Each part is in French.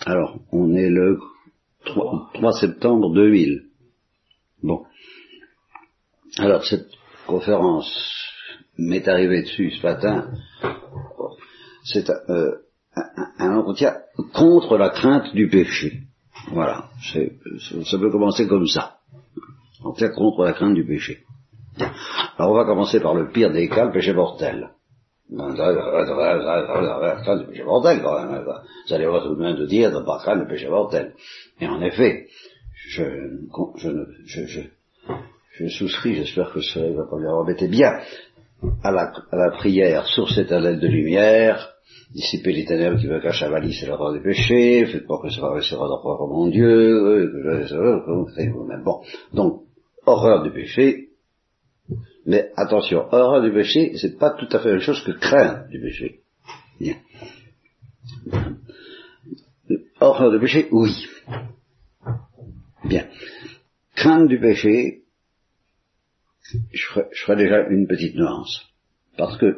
Alors, on est le 3 septembre 2000. Bon. Alors, cette conférence m'est arrivée dessus ce matin. C'est un entretien contre la crainte du péché. Voilà. Ça peut commencer comme ça. Un entretien contre la crainte du péché. Alors, on va commencer par le pire des cas, le péché mortel. La crainte du péché mortel, quand même. Vous allez voir tout de même de dire de ne pas craindre le péché mortel. Et en effet, je souscris, j'espère que ça ne va pas lui embêter bien, à la prière, source éternelle de lumière, dissipez les ténèbres qui me cachent à Valis et l'horreur du péché, faites pas que ça paraissera d'horreur mon Dieu, vous-même. Bon, donc, horreur du péché, mais attention, horreur du péché, c'est pas tout à fait la même chose que crainte du péché. Bien. Horreur du péché, oui. Bien. Crainte du péché, je ferai déjà une petite nuance. Parce que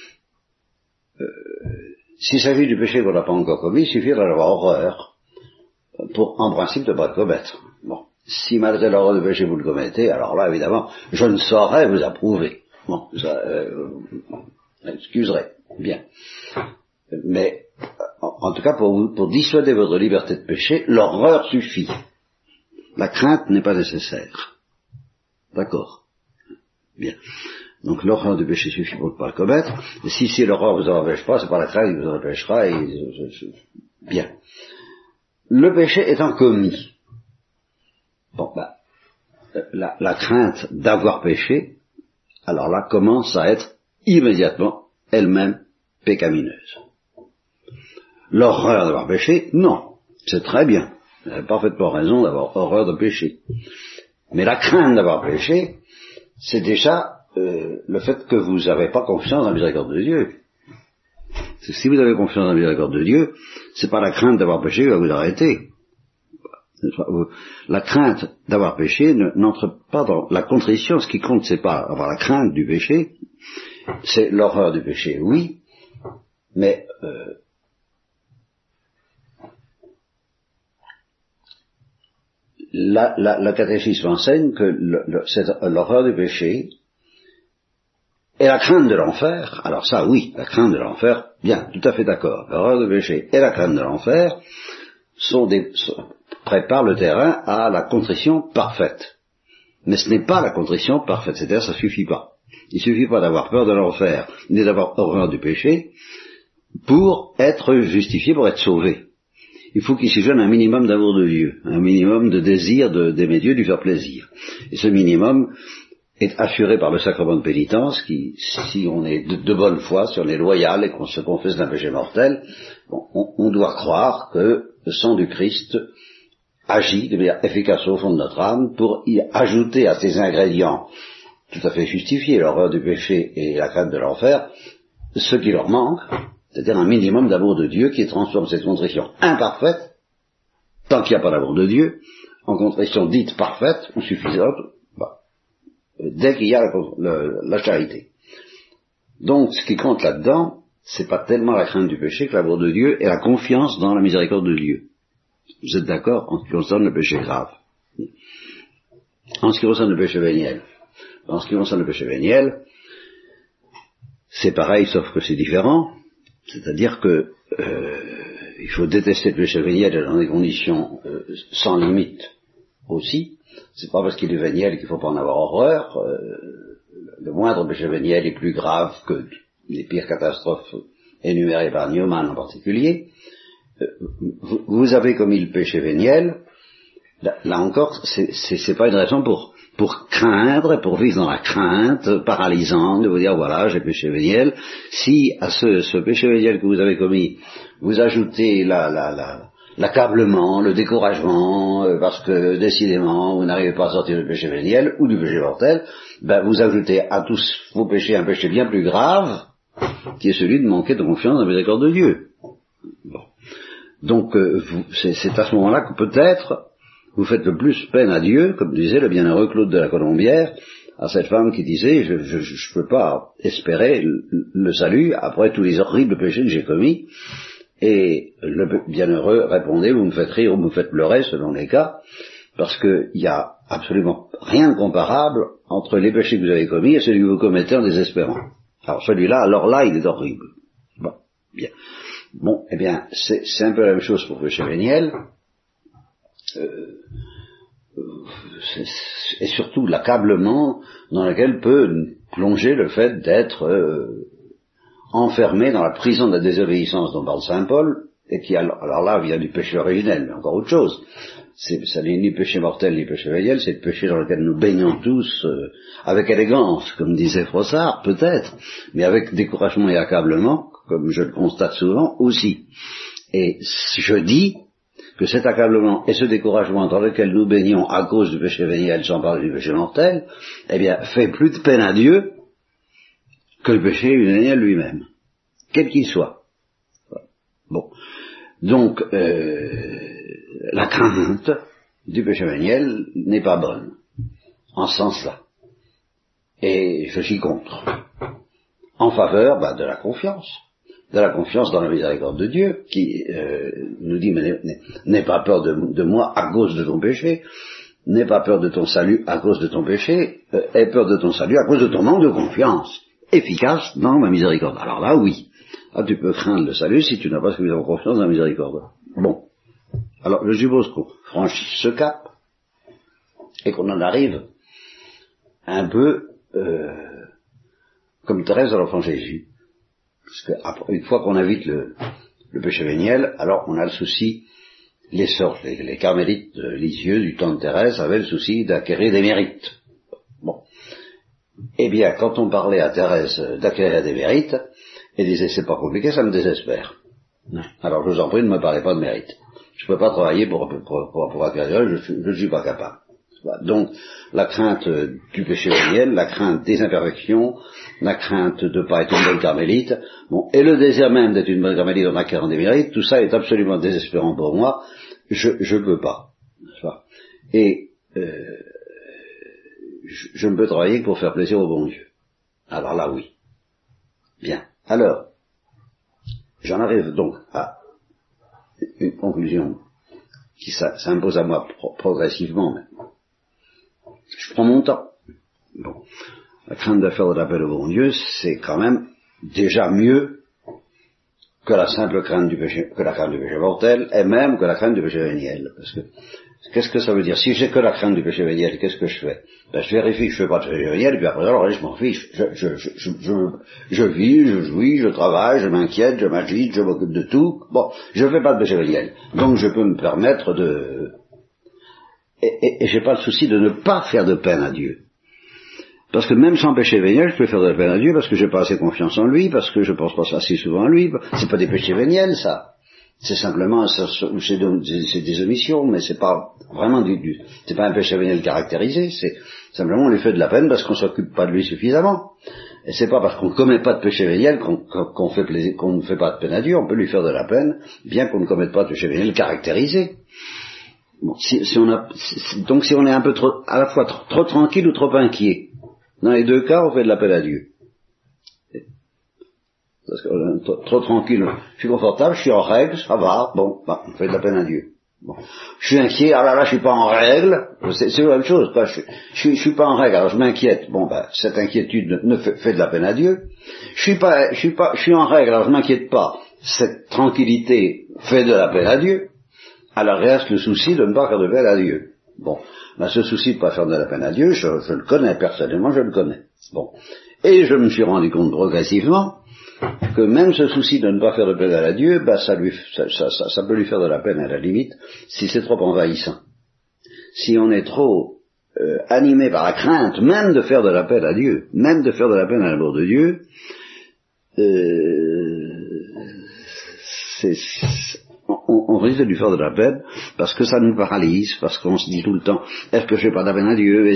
s'il s'agit du péché qu'on n'a pas encore commis, il suffit d'en avoir horreur pour, en principe, ne pas le commettre. Bon. Si malgré l'horreur du péché vous le commettez, alors là, évidemment, je ne saurais vous approuver. Bon, ça, excuserez. Bien. Mais, en tout cas, pour dissuader votre liberté de péché, l'horreur suffit. La crainte n'est pas nécessaire. D'accord. Bien. Donc l'horreur du péché suffit pour ne pas le commettre. Et si l'horreur vous en empêche pas, c'est pas la crainte qui vous en empêchera. Bien. Le péché étant commis. Bon, la crainte d'avoir péché, alors là, commence à être immédiatement elle-même pécamineuse. L'horreur d'avoir péché, non. C'est très bien. Vous avez parfaitement raison d'avoir horreur de péché. Mais la crainte d'avoir péché, c'est déjà le fait que vous n'avez pas confiance dans la miséricorde de Dieu. Si vous avez confiance dans la miséricorde de Dieu, c'est pas la crainte d'avoir péché qui va vous arrêter. La crainte d'avoir péché n'entre pas dans la contrition. Ce qui compte, c'est pas avoir la crainte du péché, c'est l'horreur du péché, oui, mais la catéchisme enseigne que l'horreur du péché et la crainte de l'enfer, alors ça oui, la crainte de l'enfer, bien, tout à fait d'accord, l'horreur du péché et la crainte de l'enfer préparent le terrain à la contrition parfaite. Mais ce n'est pas la contrition parfaite, c'est-à-dire ça suffit pas. Il suffit pas d'avoir peur de l'enfer, ni d'avoir horreur du péché, pour être justifié, pour être sauvé. Il faut qu'il s'y joigne un minimum d'amour de Dieu, un minimum de désir d'aimer Dieu, de lui faire plaisir. Et ce minimum est assuré par le sacrement de pénitence qui, si on est de bonne foi, si on est loyal et qu'on se confesse d'un péché mortel, on doit croire que le sang du Christ agit de manière efficace au fond de notre âme pour y ajouter à ces ingrédients tout à fait justifiés, l'horreur du péché et la crainte de l'enfer, ce qui leur manque, c'est-à-dire un minimum d'amour de Dieu qui transforme cette contrition imparfaite, tant qu'il n'y a pas d'amour de Dieu, en contrition dite parfaite ou suffisante, dès qu'il y a la charité. Donc, ce qui compte là-dedans, c'est pas tellement la crainte du péché que l'amour de Dieu et la confiance dans la miséricorde de Dieu. Vous êtes d'accord en ce qui concerne le péché grave. En ce qui concerne le péché véniel. En ce qui concerne le péché véniel, c'est pareil, sauf que c'est différent. C'est-à-dire que il faut détester le péché véniel dans des conditions sans limite aussi. C'est pas parce qu'il est véniel qu'il faut pas en avoir horreur. Le moindre péché véniel est plus grave que les pires catastrophes énumérées par Newman en particulier. Vous avez commis le péché véniel. Là encore, c'est pas une raison pour craindre, pour vivre dans la crainte paralysante de vous dire voilà, j'ai péché véniel. Si à ce péché véniel que vous avez commis, vous ajoutez l'accablement, le découragement, parce que décidément vous n'arrivez pas à sortir du péché véniel ou du péché mortel, vous ajoutez à tous vos péchés un péché bien plus grave, qui est celui de manquer de confiance dans la miséricorde de Dieu. Bon. Donc c'est à ce moment-là que peut-être vous faites le plus peine à Dieu, comme disait le bienheureux Claude de la Colombière, à cette femme qui disait je peux pas espérer le salut après tous les horribles péchés que j'ai commis, Et le bienheureux répondait, vous me faites rire ou vous me faites pleurer, selon les cas, parce qu'il n'y a absolument rien de comparable entre les péchés que vous avez commis et celui que vous commettez en désespérant. Alors celui-là, alors là, il est horrible. Bon, bien. Bon, eh bien, c'est un peu la même chose pour le péché véniel. Et surtout l'accablement dans lequel peut plonger le fait d'être enfermé dans la prison de la désobéissance dont parle saint Paul, et qui alors là vient du péché originel, mais encore autre chose. Ça n'est ni péché mortel ni péché véniel, c'est le péché dans lequel nous baignons tous avec élégance, comme disait Froissart, peut-être, mais avec découragement et accablement, comme je le constate souvent, aussi. Et je dis que cet accablement et ce découragement dans lequel nous baignons à cause du péché véniel, sans parler du péché mortel, eh bien, fait plus de peine à Dieu que le péché véniel lui-même, quel qu'il soit. Bon. Donc, la crainte du péché véniel n'est pas bonne, en ce sens-là. Et je suis contre. En faveur de la confiance dans la miséricorde de Dieu, qui nous dit, mais n'aie pas peur de moi à cause de ton péché, n'aie pas peur de ton salut à cause de ton péché, aie peur de ton salut à cause de ton manque de confiance, efficace dans ma miséricorde. Alors là, oui. Ah, tu peux craindre le salut si tu n'as pas suffisamment confiance dans la miséricorde. Bon. Alors, je suppose qu'on franchisse ce cap, et qu'on en arrive un peu comme Thérèse de l'Enfant Jésus. Parce que une fois qu'on évite le péché véniel, alors on a le souci, les carmélites de Lisieux du temps de Thérèse avaient le souci d'acquérir des mérites. Bon. Eh bien, quand on parlait à Thérèse d'acquérir des mérites, elle disait c'est pas compliqué, ça me désespère. Alors je vous en prie, ne me parlez pas de mérite. Je ne peux pas travailler pour acquérir, je ne suis pas capable. Donc, la crainte du péché véniel, la crainte des imperfections, la crainte de ne pas être une bonne carmélite, bon, et le désir même d'être une bonne carmélite en acquérant des mérites, tout ça est absolument désespérant pour moi, je ne peux pas. Et je ne peux travailler que pour faire plaisir au bon Dieu. Alors là, oui. Bien. Alors, j'en arrive donc à une conclusion qui s'impose à moi progressivement maintenant. Je prends mon temps. Bon. La crainte de faire de l'appel au bon Dieu, c'est quand même déjà mieux que la simple crainte du péché, que la crainte du péché mortel, et même que la crainte du péché véniel. Parce que, qu'est-ce que ça veut dire? Si j'ai que la crainte du péché véniel, qu'est-ce que je fais? Ben, je vérifie que je fais pas de péché véniel, et puis après, alors, je m'en fiche. Je vis, je jouis, je travaille, je m'inquiète, je m'agite, je m'occupe de tout. Bon, je fais pas de péché véniel. Donc, je peux me permettre et j'ai pas le souci de ne pas faire de peine à Dieu. Parce que même sans péché véniel, je peux faire de la peine à Dieu parce que j'ai pas assez confiance en lui, parce que je pense pas assez souvent à lui. C'est pas des péchés véniels, ça. C'est simplement, c'est des omissions, mais c'est pas vraiment c'est pas un péché véniel caractérisé, c'est simplement on lui fait de la peine parce qu'on s'occupe pas de lui suffisamment. Et c'est pas parce qu'on ne commet pas de péché véniel qu'on ne fait pas de peine à Dieu, on peut lui faire de la peine, bien qu'on ne commette pas de péché véniel caractérisé. Bon, donc si on est un peu trop, à la fois trop tranquille ou trop inquiet, dans les deux cas, on fait de l'appel à Dieu. Parce que trop tranquille, je suis confortable, je suis en règle, ça va, bon, on fait de la peine à Dieu. Bon. Je suis inquiet, ah là là, je suis pas en règle, c'est la même chose, quoi. Je suis pas en règle, alors je m'inquiète. Bon, cette inquiétude fait de la peine à Dieu. Je suis en règle, alors je m'inquiète pas. Cette tranquillité fait de la peine à Dieu. Alors reste le souci de ne pas faire de peine à Dieu. Bon, ce souci de ne pas faire de la peine à Dieu, je le connais personnellement, je le connais. Bon, et je me suis rendu compte progressivement que même ce souci de ne pas faire de peine à Dieu, ça peut lui faire de la peine à la limite si c'est trop envahissant. Si on est trop animé par la crainte, même de faire de la peine à Dieu, même de faire de la peine à l'amour de Dieu, on risque de lui faire de la peine parce que ça nous paralyse, parce qu'on se dit tout le temps est-ce que je fais pas de la peine à Dieu,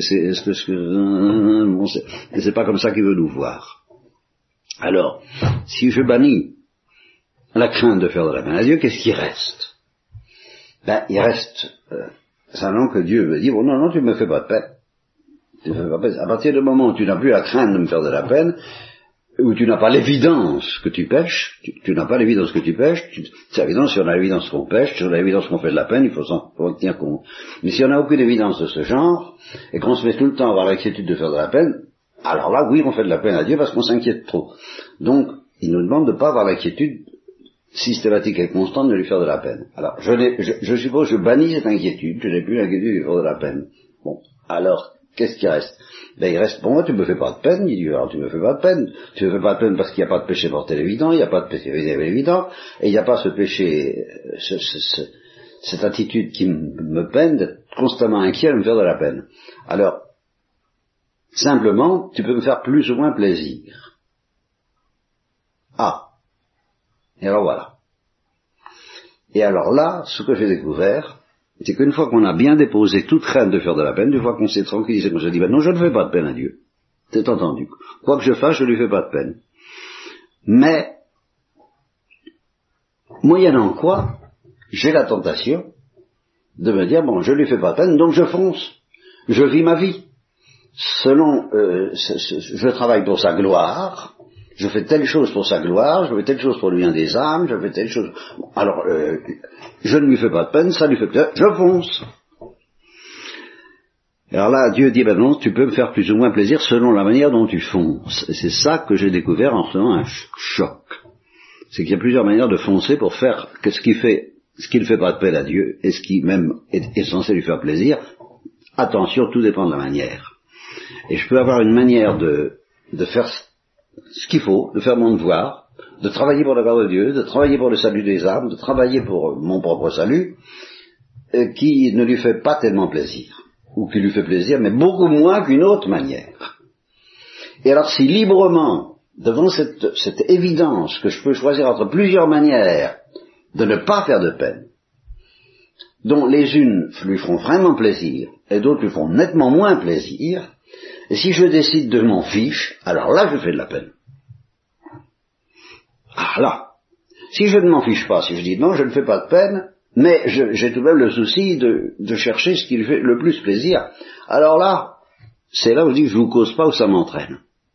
c'est pas comme ça qu'il veut nous voir. Alors, si je bannis la crainte de faire de la peine à Dieu, qu'est-ce qui reste? Il reste simplement que Dieu me dit bon non, tu me fais pas de peine. À partir du moment où tu n'as plus la crainte de me faire de la peine, où tu n'as pas l'évidence que tu pêches, tu n'as pas l'évidence que tu pêches, c'est évident, si on a l'évidence qu'on pêche, si on a l'évidence qu'on fait de la peine, il faut en tenir compte. Mais si on n'a aucune évidence de ce genre, et qu'on se met tout le temps à avoir l'inquiétude de faire de la peine, alors là, oui, on fait de la peine à Dieu parce qu'on s'inquiète trop. Donc, il nous demande de ne pas avoir l'inquiétude systématique et constante de lui faire de la peine. Alors, je suppose, je bannis cette inquiétude, je n'ai plus l'inquiétude de lui faire de la peine. Bon, alors, qu'est-ce qui reste? Ben, il reste pour moi, tu me fais pas de peine, dit Dieu. Alors, tu me fais pas de peine. Tu me fais pas de peine parce qu'il n'y a pas de péché mortel évident, il n'y a pas de péché évident, et il n'y a pas ce péché, cette attitude qui me peine d'être constamment inquiet de me faire de la peine. Alors, simplement, tu peux me faire plus ou moins plaisir. Ah. Et alors voilà. Et alors là, ce que j'ai découvert, c'est qu'une fois qu'on a bien déposé toute crainte de faire de la peine, une fois qu'on s'est tranquillisé, qu'on s'est dit, ben non, je ne fais pas de peine à Dieu. C'est entendu. Quoi que je fasse, je ne lui fais pas de peine. Mais, moyennant quoi, j'ai la tentation de me dire, bon, je ne lui fais pas de peine, donc je fonce. Je vis ma vie. Je travaille pour sa gloire, je fais telle chose pour sa gloire, je fais telle chose pour le bien des âmes, je fais telle chose... Bon, alors, je ne lui fais pas de peine, ça lui fait plaisir, je fonce. Alors là, Dieu dit, ben non, tu peux me faire plus ou moins plaisir selon la manière dont tu fonces. Et c'est ça que j'ai découvert en recevant un choc. C'est qu'il y a plusieurs manières de foncer pour faire que ce qui ne fait pas de peine à Dieu, et ce qui même est censé lui faire plaisir. Attention, tout dépend de la manière. Et je peux avoir une manière de faire ce qu'il faut, de faire mon devoir, de travailler pour la gloire de Dieu, de travailler pour le salut des âmes, de travailler pour mon propre salut, qui ne lui fait pas tellement plaisir, ou qui lui fait plaisir, mais beaucoup moins qu'une autre manière. Et alors si librement, devant cette évidence que je peux choisir entre plusieurs manières de ne pas faire de peine, dont les unes lui feront vraiment plaisir, et d'autres lui feront nettement moins plaisir, et si je décide de m'en fiche, alors là je fais de la peine. Ah là, si je ne m'en fiche pas, si je dis non, je ne fais pas de peine, mais j'ai tout de même le souci de chercher ce qui lui fait le plus plaisir, alors là, c'est là où je dis que je vous cause pas, où ça m'entraîne.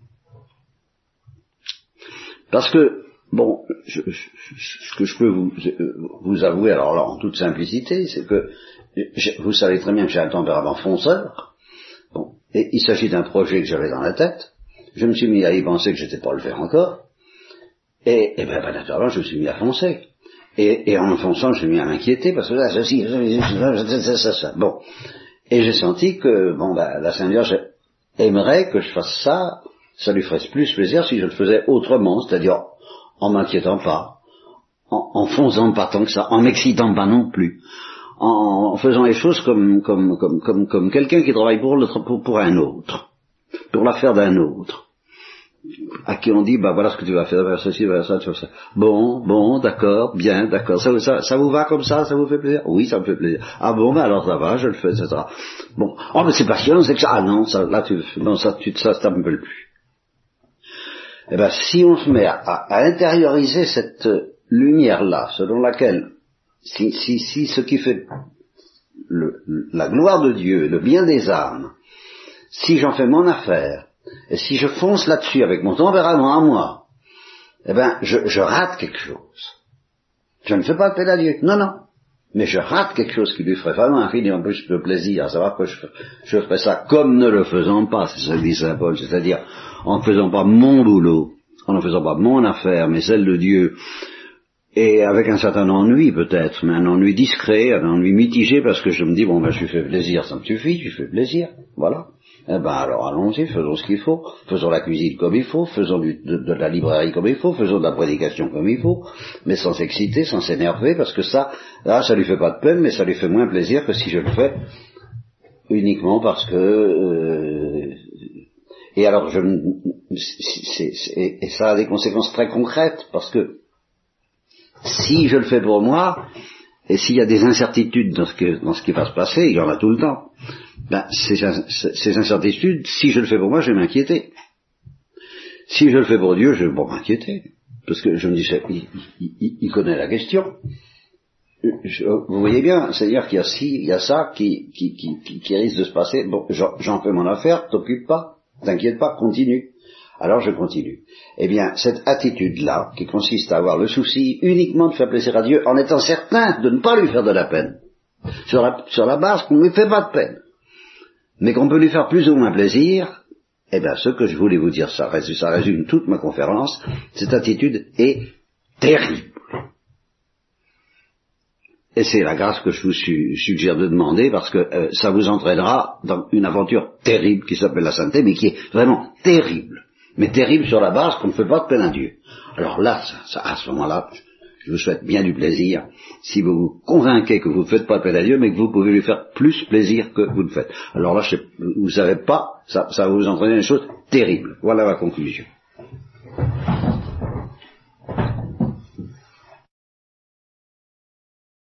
Parce que, bon, ce que je peux vous avouer, alors là, en toute simplicité, c'est que vous savez très bien que j'ai un tempérament fonceur. Bon, et il s'agit d'un projet que j'avais dans la tête. Je me suis mis à y penser que j'étais pas le faire encore. Et ben, naturellement, je me suis mis à foncer. Et en fonçant, je me suis mis à m'inquiéter parce que là, ça. Bon. Et j'ai senti que, bon, la Sainte Vierge aimerait que je fasse ça. Ça lui ferait plus plaisir si je le faisais autrement, c'est-à-dire en m'inquiétant pas, en fonçant pas tant que ça, en m'excitant pas non plus, en faisant les choses comme quelqu'un qui travaille pour un autre, pour l'affaire d'un autre, à qui on dit, bah voilà ce que tu vas faire, ceci, voilà ça, tu vas ça. Bon, d'accord, bien, d'accord, ça vous va comme ça vous fait plaisir? Oui, ça me fait plaisir. Ah bon, ben alors ça va, je le fais, etc. Bon, oh mais c'est passionnant, c'est que ça, ah non, ça me plaît plus. Eh bien, si on se met à intérioriser cette lumière-là, selon laquelle, si ce qui fait la gloire de Dieu, le bien des âmes, si j'en fais mon affaire, et si je fonce là-dessus avec mon tempérament à moi, eh bien, je rate quelque chose. Je ne fais pas appel à Dieu, non, mais je rate quelque chose qui lui ferait vraiment infiniment plus de plaisir, à savoir que je ferais ça comme ne le faisant pas, c'est ce que dit Saint Paul, c'est-à-dire en ne faisant pas mon boulot, en ne faisant pas mon affaire, mais celle de Dieu, et avec un certain ennui peut-être, mais un ennui discret, un ennui mitigé, parce que je me dis, bon ben je lui fais plaisir, ça me suffit, je lui fais plaisir, voilà. Eh ben alors allons-y, faisons ce qu'il faut, faisons la cuisine comme il faut, faisons de la librairie comme il faut, faisons de la prédication comme il faut, mais sans s'exciter, sans s'énerver, parce que ça lui fait pas de peine, mais ça lui fait moins plaisir que si je le fais uniquement parce que... et alors, et ça a des conséquences très concrètes, parce que si je le fais pour moi, et s'il y a des incertitudes dans ce qui va se passer, il y en a tout le temps, ben, ces incertitudes, si je le fais pour moi, je vais m'inquiéter. Si je le fais pour Dieu, je vais pas m'inquiéter, parce que je me dis, il connaît la question. Vous voyez bien, c'est-à-dire qu'il y a ça qui risque de se passer, bon, j'en fais mon affaire, t'occupe pas, t'inquiète pas, continue. Alors je continue. Eh bien, cette attitude-là, qui consiste à avoir le souci uniquement de faire plaisir à Dieu, en étant certain de ne pas lui faire de la peine, sur la base qu'on ne lui fait pas de peine, mais qu'on peut lui faire plus ou moins plaisir, eh bien, ce que je voulais vous dire, ça résume toute ma conférence, cette attitude est terrible. Et c'est la grâce que je vous suggère de demander, parce que ça vous entraînera dans une aventure terrible qui s'appelle la sainteté, mais qui est vraiment terrible. Mais terrible sur la base qu'on ne fait pas de peine à Dieu. Alors là, à ce moment-là, je vous souhaite bien du plaisir, si vous vous convainquez que vous ne faites pas de peine à Dieu, mais que vous pouvez lui faire plus plaisir que vous ne faites. Alors là, vous ne savez pas, ça va vous entraîner une chose terrible. Voilà ma conclusion.